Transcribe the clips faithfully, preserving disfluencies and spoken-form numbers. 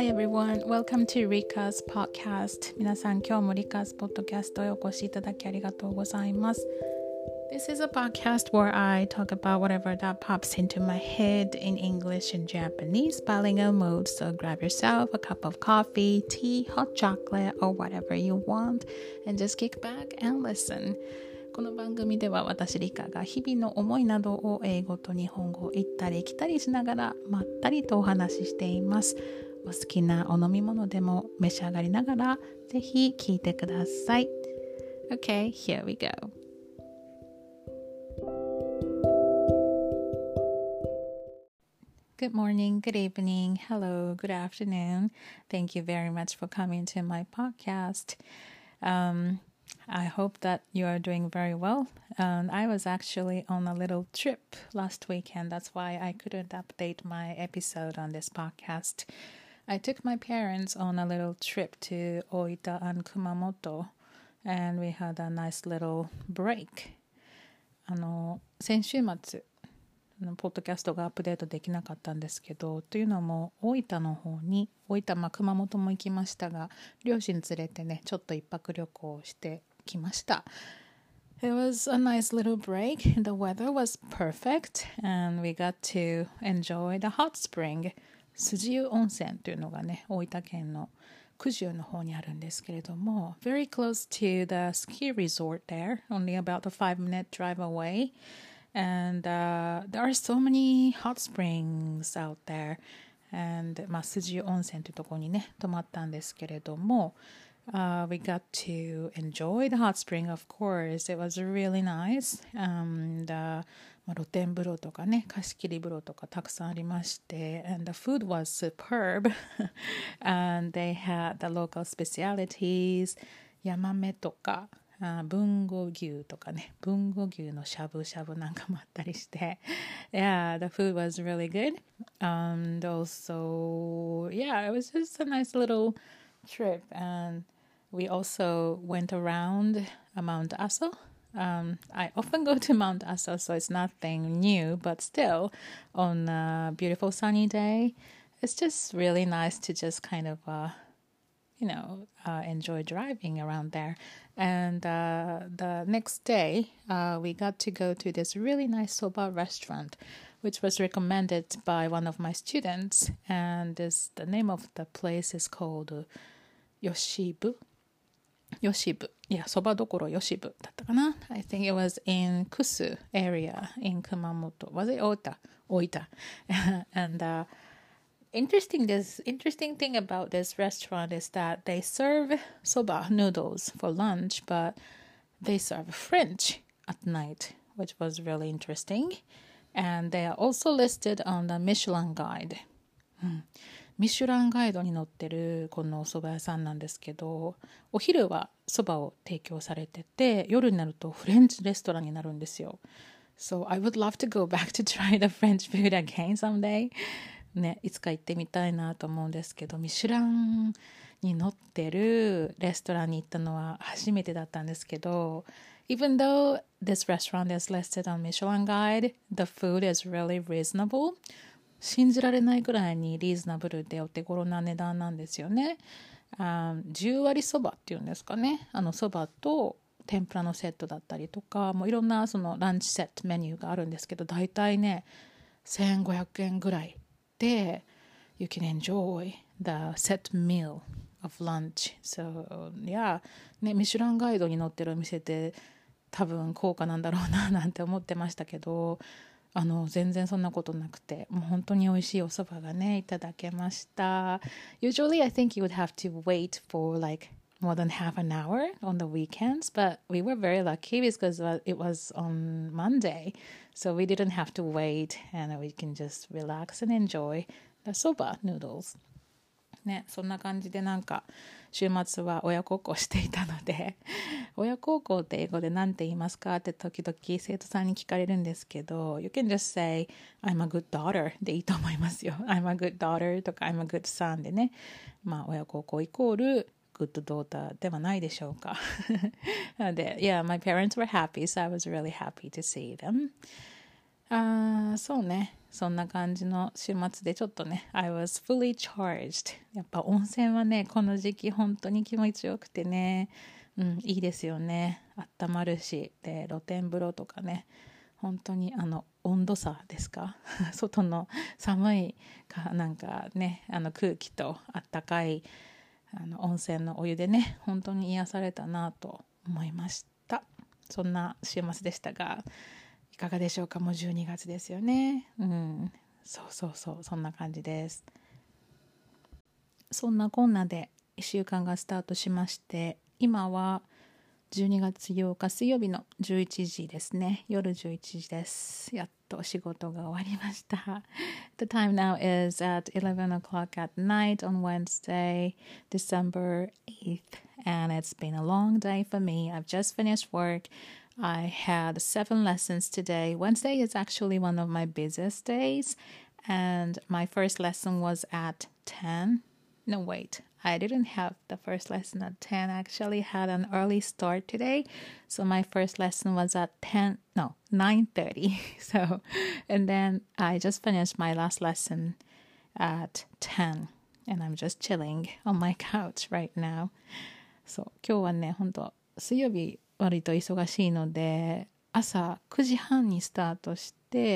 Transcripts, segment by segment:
Hi everyone, welcome to Rika's podcast. 皆さん、今日も Rika's podcast へお越しいただきありがとうございます。This is a podcast where I talk about whatever that pops into my head in English and Japanese bilingual mode. So grab yourself a cup of coffee, tea, hot chocolate, or whatever you want and just kick back and listen.この番組では私リカが日々の思いなどを英語と日本語を行ったり来たりしながらまったりとお話ししています。お好きなお飲み物でも召し上がりながらぜひ聞いてください。Okay, here we go. Good morning, good evening, hello, good afternoon. Thank you very much for coming to my podcast. Um,I hope that you are doing very well. Um, I was actually on a little trip last weekend. That's why I couldn't update my episode on this podcast. I took my parents on a little trip to Oita and Kumamoto, and we had a nice little break. あの、先週末、ポッドキャストがアップデートできなかったんですけど、というのも大分の方に、大分、まあ、熊本も行きましたが、両親連れてね、ちょっと一泊旅行してきました。It was a nice little break. The weather was perfect and we got to enjoy the hot spring. 辻湯温泉というのがね、大分県の九十の方にあるんですけれども、very close to the ski resort there, only about a five minute drive away.And uh, there are so many hot springs out there. And まあ、辻湯温泉というところにね、泊まったんですけれども、uh, we got to enjoy the hot spring, of course. It was really nice. And, uh, まあ、露天風呂とかね、貸し切り風呂とかたくさんありまして、and the food was superb. And they had the local specialities, ヤマメとか、あ豊後牛とかね、豊後牛のしゃぶしゃぶなんかもあったりして、yeah, the food was really good. And also, yeah, it was just a nice little trip. And we also went around Mount Aso. Um, I often go to Mount Aso, so it's nothing new, but still, on a beautiful sunny day, it's just really nice to just kind of, uh, you know, uh, enjoy driving around there. And uh, the next day, uh, we got to go to this really nice soba restaurant, which was recommended by one of my students. And this, the name of the place is called uh, Yoshibu. Yoshibu. Yeah, そばどころ Yoshibu だったかな? I think it was in Kusu area in Kumamoto. Was it Ota? Oita. and uh, Interesting this interesting thing about this restaurant is that they serve soba noodles for lunch, but they serve French at night, which was really interesting. And they are also listed on the Michelin guide. うん、ミシュランガイドに載ってるこのお蕎麦屋さんなんですけど、お昼は蕎麦を提供されてて、夜になるとフレンチレストランになるんですよ。So I would love to go back to try the French food again someday.ね、いつか行ってみたいなと思うんですけど、ミシュランに載ってるレストランに行ったのは初めてだったんですけど、even though this restaurant is listed on Michelin Guide, the food is really reasonable. 信じられないくらいにリーズナブルでお手頃な値段なんですよね。あじゅう割そばっていうんですかね。あのそばと天ぷらのセットだったりとか、もういろんなそのランチセットメニューがあるんですけど、だいたいね、せんごひゃくえんぐらい。で you can enjoy the set meal of lunch. So, yeah. ね、ミシュランガイドに載ってるお店って多分高価なんだろうななんて思ってましたけど、あの全然そんなことなくて、もう本当に美味しいお蕎麦がねいただけました。Usually I think you would have to wait for like more than half an hour on the weekends, but we were very lucky because it was on Monday, so we didn't have to wait and we can just relax and enjoy the soba noodles. ね、そんな感じでなんか週末は親孝行していたので親孝行って英語で何て言いますかって時々生徒さんに聞かれるんですけど You can just say I'm a good daughter でいいと思いますよ。I'm a good daughter とか I'm a good son でね、まあ親孝行イコールgood daughter ではないでしょうか。で、yeah, my parents were happy, so I was really happy to see them. ああ、そうね。そんな感じの週末でちょっとね、I was fully charged. やっぱ温泉はね、この時期本当に気持ちよくてね、うん、いいですよね。あったまるし、で、露天風呂とかね、本当にあの温度差ですか外の寒いかなんかね、あの空気とあったかいあの温泉のお湯でね、本当に癒されたなと思いました。そんな週末でしたが、いかがでしょうか。もうじゅうにがつですよね。うん、そうそうそう、そんな感じです。そんなこんなでいっしゅうかんがスタートしまして、今はじゅうにがつようか水曜日のじゅういちじですね。夜じゅういちじです。やっと仕事が終わりました。The time now is at eleven o'clock at night on Wednesday, December eighth, and it's been a long day for me. I've just finished work. I had seven lessons today. Wednesday is actually one of my busiest days, and my first lesson was at ten. No, wait. I didn't have the first lesson at ten. I actually had an early start today. So my first lesson was at ten, no, nine thirty. So, and then I just finished my last lesson at ten. And I'm just chilling on my couch right now. そう、今日はね、本当水曜日割と忙しいので、朝くじはんにスタートして、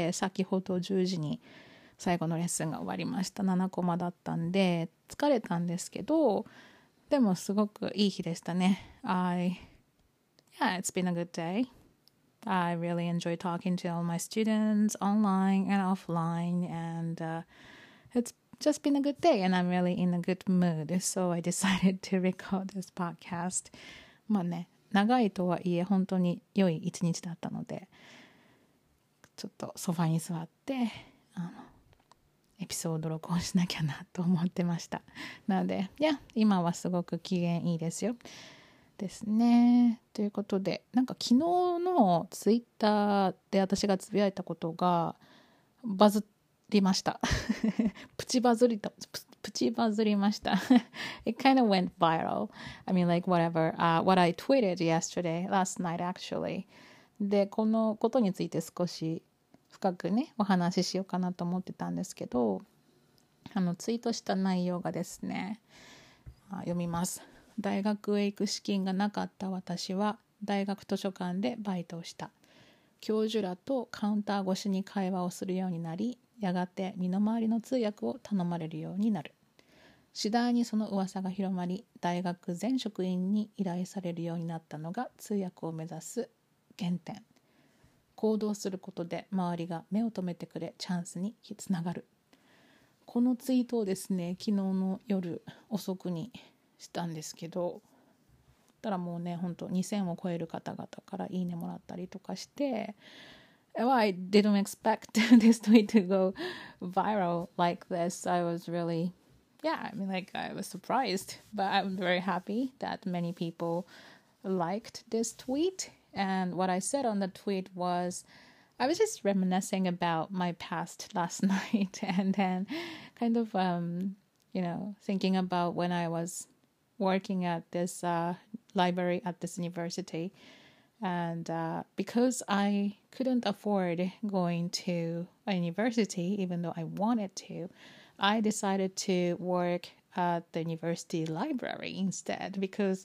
先ほどじゅうじに最後のレッスンが終わりました。ななコマだったんで疲れたんですけど、でもすごくいい日でしたね。I, yeah, it's been a good day. I really enjoy talking to all my students online and offline, and uh, it's just been a good day, and I'm really in a good mood. So I decided to record this podcast. まあね、長いとはいえ本当に良い一日だったので、ちょっとソファに座ってあのエピソード録音しなきゃなと思ってました。なので、いや、今はすごく機嫌いいですよ。ですね。ということで、なんか昨日のツイッターで私がつぶやいたことがバズりました。プチバズりと、プチバズりました。It kind of went viral. I mean, like whatever, uh, what I tweeted yesterday, last night actually. で、このことについて少し深くねお話ししようかなと思ってたんですけど、あのツイートした内容がですね、あ読みます。大学へ行く資金がなかった私は大学図書館でバイトをした。教授らとカウンター越しに会話をするようになり、やがて身の回りの通訳を頼まれるようになる。次第にその噂が広まり、大学全職員に依頼されるようになったのが通訳を目指す原点。行動することで周りが目を留めてくれ、チャンスにつながる。このツイートをですね、昨日の夜遅くにしたんですけど、たらもうね、本当にせんを超える方々からいいねもらったりとかして、well, I didn't expect this tweet to go viral like this. I was really, yeah, I mean, like I was surprised, but I'm very happy that many people liked this tweet. And what I said on the tweet was, I was just reminiscing about my past last night, and then kind of, um, you know, thinking about when I was working at this uh, library at this university. And uh, because I couldn't afford going to a university, even though I wanted to, I decided to work at the university library instead, because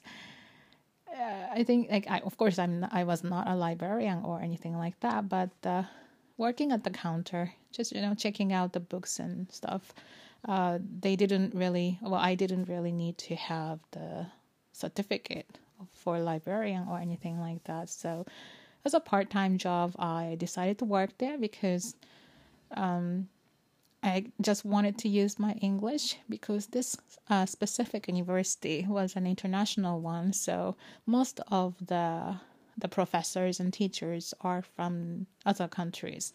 uh, I think, like, I, of course, I'm not, I was not a librarian or anything like that, but uh, working at the counter, just, you know, checking out the books and stuff, uh, they didn't really, well, I didn't really need to have the certificate for librarian or anything like that. So as a part-time job, I decided to work there because um, I just wanted to use my English, because this uh, specific university was an international one. So most of the the professors and teachers are from other countries.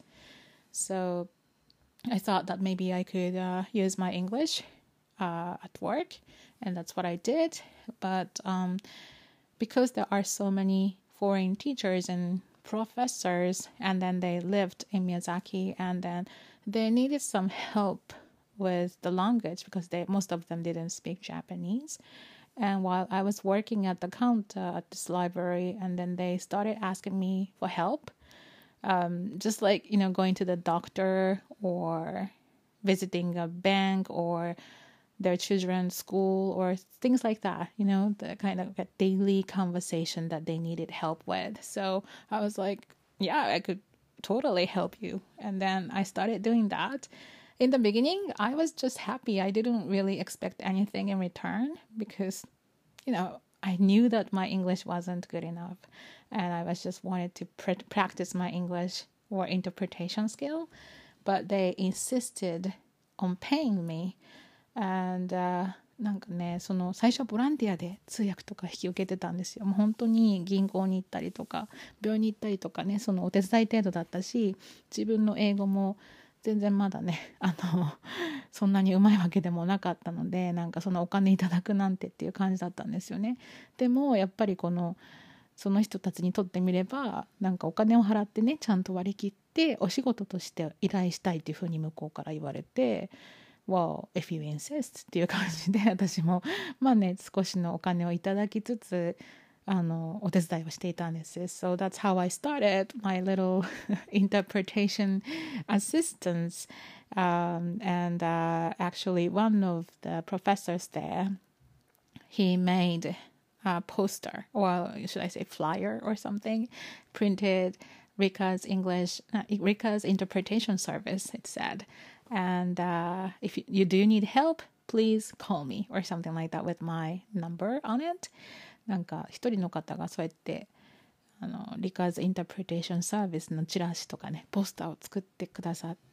So I thought that maybe I could uh, use my English uh, at work, and that's what I did. But um, because there are so many foreign teachers and professors, and then they lived in Miyazaki, and then they needed some help with the language because they most of them didn't speak Japanese. And while I was working at the counter at this library, and then they started asking me for help, um, just like, you know, going to the doctor or visiting a bank or their children's school or things like that, you know, the kind of a daily conversation that they needed help with. So I was like, yeah, I could totally help you. And then I started doing that. In the beginning, I was just happy. I didn't really expect anything in return because, you know, I knew that my English wasn't good enough. And I was just wanted to pr- practice my English or interpretation skill. But they insisted on paying me. And, uh, なんかね、その最初ボランティアで通訳とか引き受けてたんですよ。もう本当に銀行に行ったりとか病院に行ったりとかね、そのお手伝い程度だったし、自分の英語も全然まだね、あのそんなにうまいわけでもなかったので、なんかそのお金いただくなんてっていう感じだったんですよね。でもやっぱりこのその人たちにとってみれば、なんかお金を払ってね、ちゃんと割り切ってお仕事として依頼したいっていうふうに向こうから言われて、Well, if you insist っていう感じで、私もまあね、少しのお金をいただきつつ、あのお手伝いをしていたんです。So that's how I started my little interpretation assistance. Um, and uh, actually, one of the professors there, he made a poster, or should I say flyer or something, printed Rika's English, uh, Rika's interpretation service, it said. And uh, if you, you do need help, please call me or something like that with my number on it. なんか一人の方がそうやってあのリカーズインタープレテーションサービスのチラシとかねポスターを作ってくださって、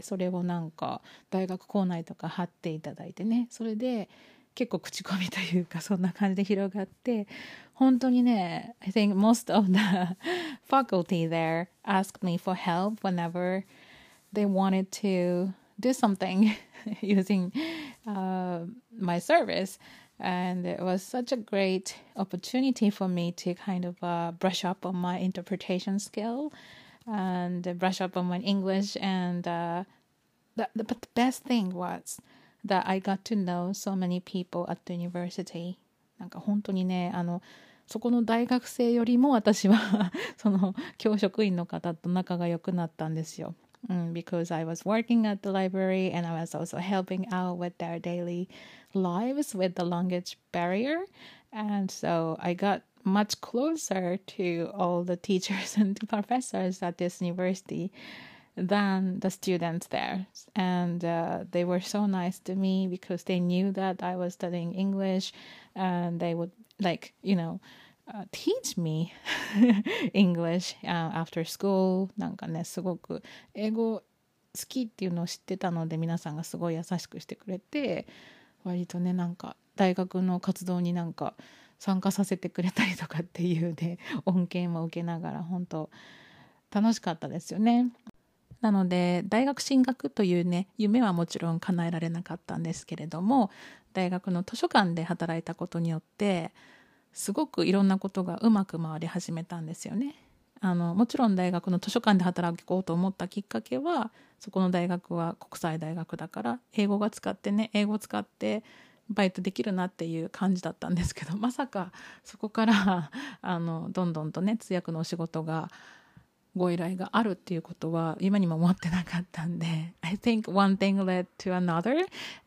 それをなんか大学構内とか貼っていただいてね、それで結構口コミというかそんな感じで広がって、本当にね I think most of the faculty there asked me for help whenever they wanted to do something using uh, my service. And it was such a great opportunity for me to kind of uh, brush up on my interpretation skill and brush up on my English. And uh, the, the, but the best thing was that I got to know so many people at the university. なんか本当にね、あのそこの大学生よりも私はその教職員の方と仲が良くなったんですよ。Mm, because I was working at the library and I was also helping out with their daily lives with the language barrier. And so I got much closer to all the teachers and professors at this university than the students there. And uh, they were so nice to me because they knew that I was studying English and they would like, you know,Uh, teach me English、uh, after school. なんかね、すごく英語好きっていうのを知ってたので、皆さんがすごい優しくしてくれて、割とね、なんか大学の活動になんか参加させてくれたりとかっていうね、恩恵も受けながら本当楽しかったですよね。なので大学進学というね夢はもちろん叶えられなかったんですけれども、大学の図書館で働いたことによってすごくいろんなことがうまく回り始めたんですよね。あのもちろん大学の図書館で働こうと思ったきっかけは、そこの大学は国際大学だから英語が使ってね英語を使ってバイトできるなっていう感じだったんですけど、まさかそこからあのどんどんとね通訳のお仕事がご依頼があるっていうことは今にも思ってなかったんで、 I think one thing led to another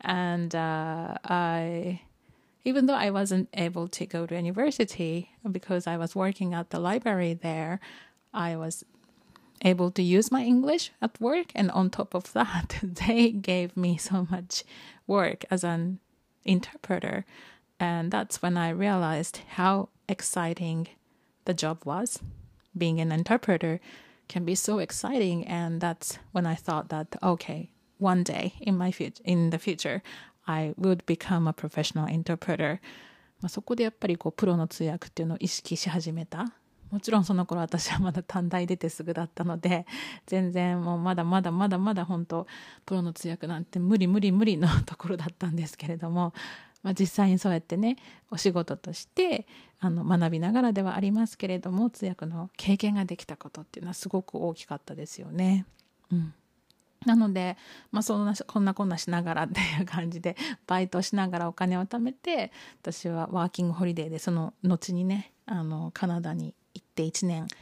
and、uh, I even though I wasn't able to go to university because I was working at the library there, I was able to use my English at work. And on top of that, they gave me so much work as an interpreter. And that's when I realized how exciting the job was. Being an interpreter can be so exciting. And that's when I thought that, okay, one day in my future, in the future,I would become a professional interpreter. まあそこでやっぱりこうプロの通訳っていうのを意識し始めた。もちろんその頃私はまだ短大出てすぐだったので、全然もうまだまだまだまだ本当プロの通訳なんて無理無理無理のところだったんですけれども、まあ、実際にそうやってねお仕事としてあの学びながらではありますけれども、通訳の経験ができたことっていうのはすごく大きかったですよね。うんなので、まあ、そんなこんなこんなしながらっていう感じでバイトしながらお金を貯めて、私はワーキングホリデーでその後にねあのカナダに行っていちねん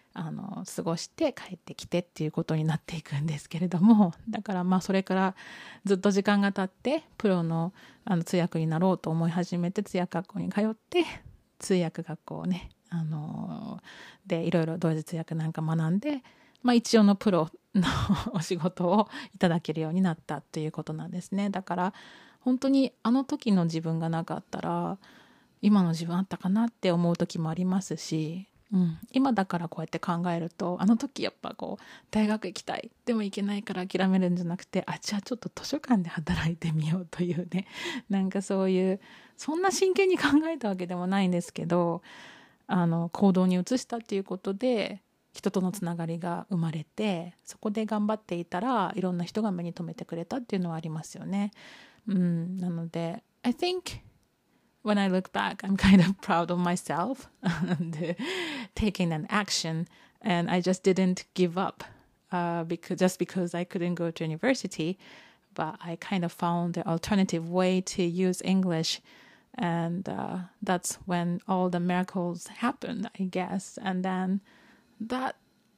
あの過ごして帰ってきてっていうことになっていくんですけれども、だからまあそれからずっと時間が経ってプロの、あの通訳になろうと思い始めて、通訳学校に通って通訳学校をね、あのでいろいろ同時通訳なんか学んで、まあ、一応のプロのお仕事をいただけるようになったということなんですね。だから本当にあの時の自分がなかったら今の自分あったかなって思う時もありますし、うん、今だからこうやって考えると、あの時やっぱこう大学行きたいでも行けないから諦めるんじゃなくて、あじゃあちょっと図書館で働いてみようというね、なんかそういうそんな真剣に考えたわけでもないんですけど、あの行動に移したっていうことで人とのつながりが生まれて、そこで頑張っていたらいろんな人が目に留めてくれたっていうのはありますよね。うん、なので I think when I look back, I'm kind of proud of myself and taking an action, and I just didn't give up uh, because just because I couldn't go to university, but I kind of found the alternative way to use English, and uh, that's when all the miracles happened, I guess, and then that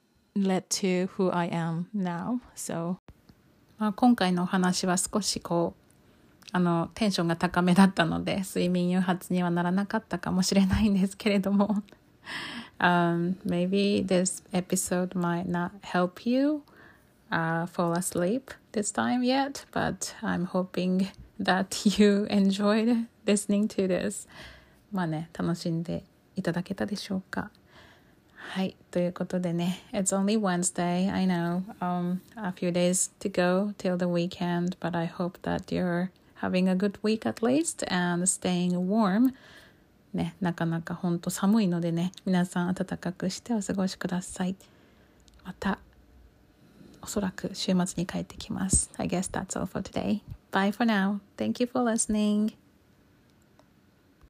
led to who I am now. So, まあ、今回のお話は少しこうあのテンションが高めだったので睡眠誘発にはならなかったかもしれないんですけれども、um, maybe this episode might not help you uh, fall asleep this time yet, but I'm hoping that you enjoyed listening to this. まあね、楽しんでいただけたでしょうか。はい、ということでね、It's only Wednesday, I know, um, a few days to go till the weekend, but I hope that you're having a good week at least and staying warm. ね、なかなかほんと寒いのでね、皆さん暖かくしてお過ごしください。またおそらく週末に帰ってきます。I guess that's all for today. Bye for now. Thank you for listening.